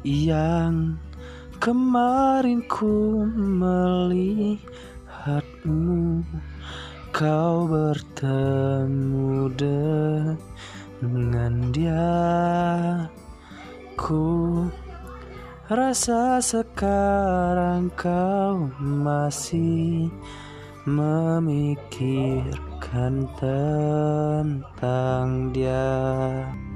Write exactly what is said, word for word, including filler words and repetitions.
yang kemarin ku melihatmu, kau bertemu dengan dia. Ku rasa sekarang kau masih memikirkan tentang dia.